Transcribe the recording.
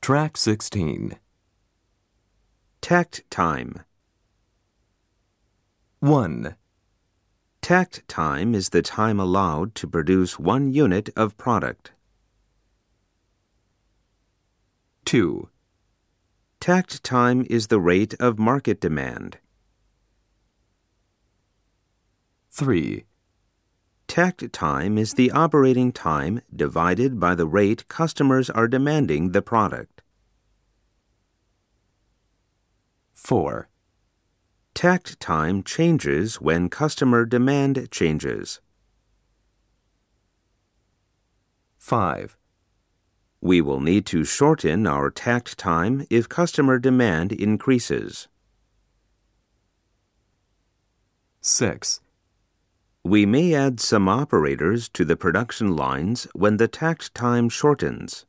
Track 16. Takt time. 1, Takt time is the time allowed to produce 1 unit of product. 2, Takt time is the rate of market demand. 3, Takt time is the operating time divided by the rate customers are demanding the product. 4, Takt time changes when customer demand changes. 5, We will need to shorten our takt time if customer demand increases. 6, We may add some operators to the production lines when the takt time shortens.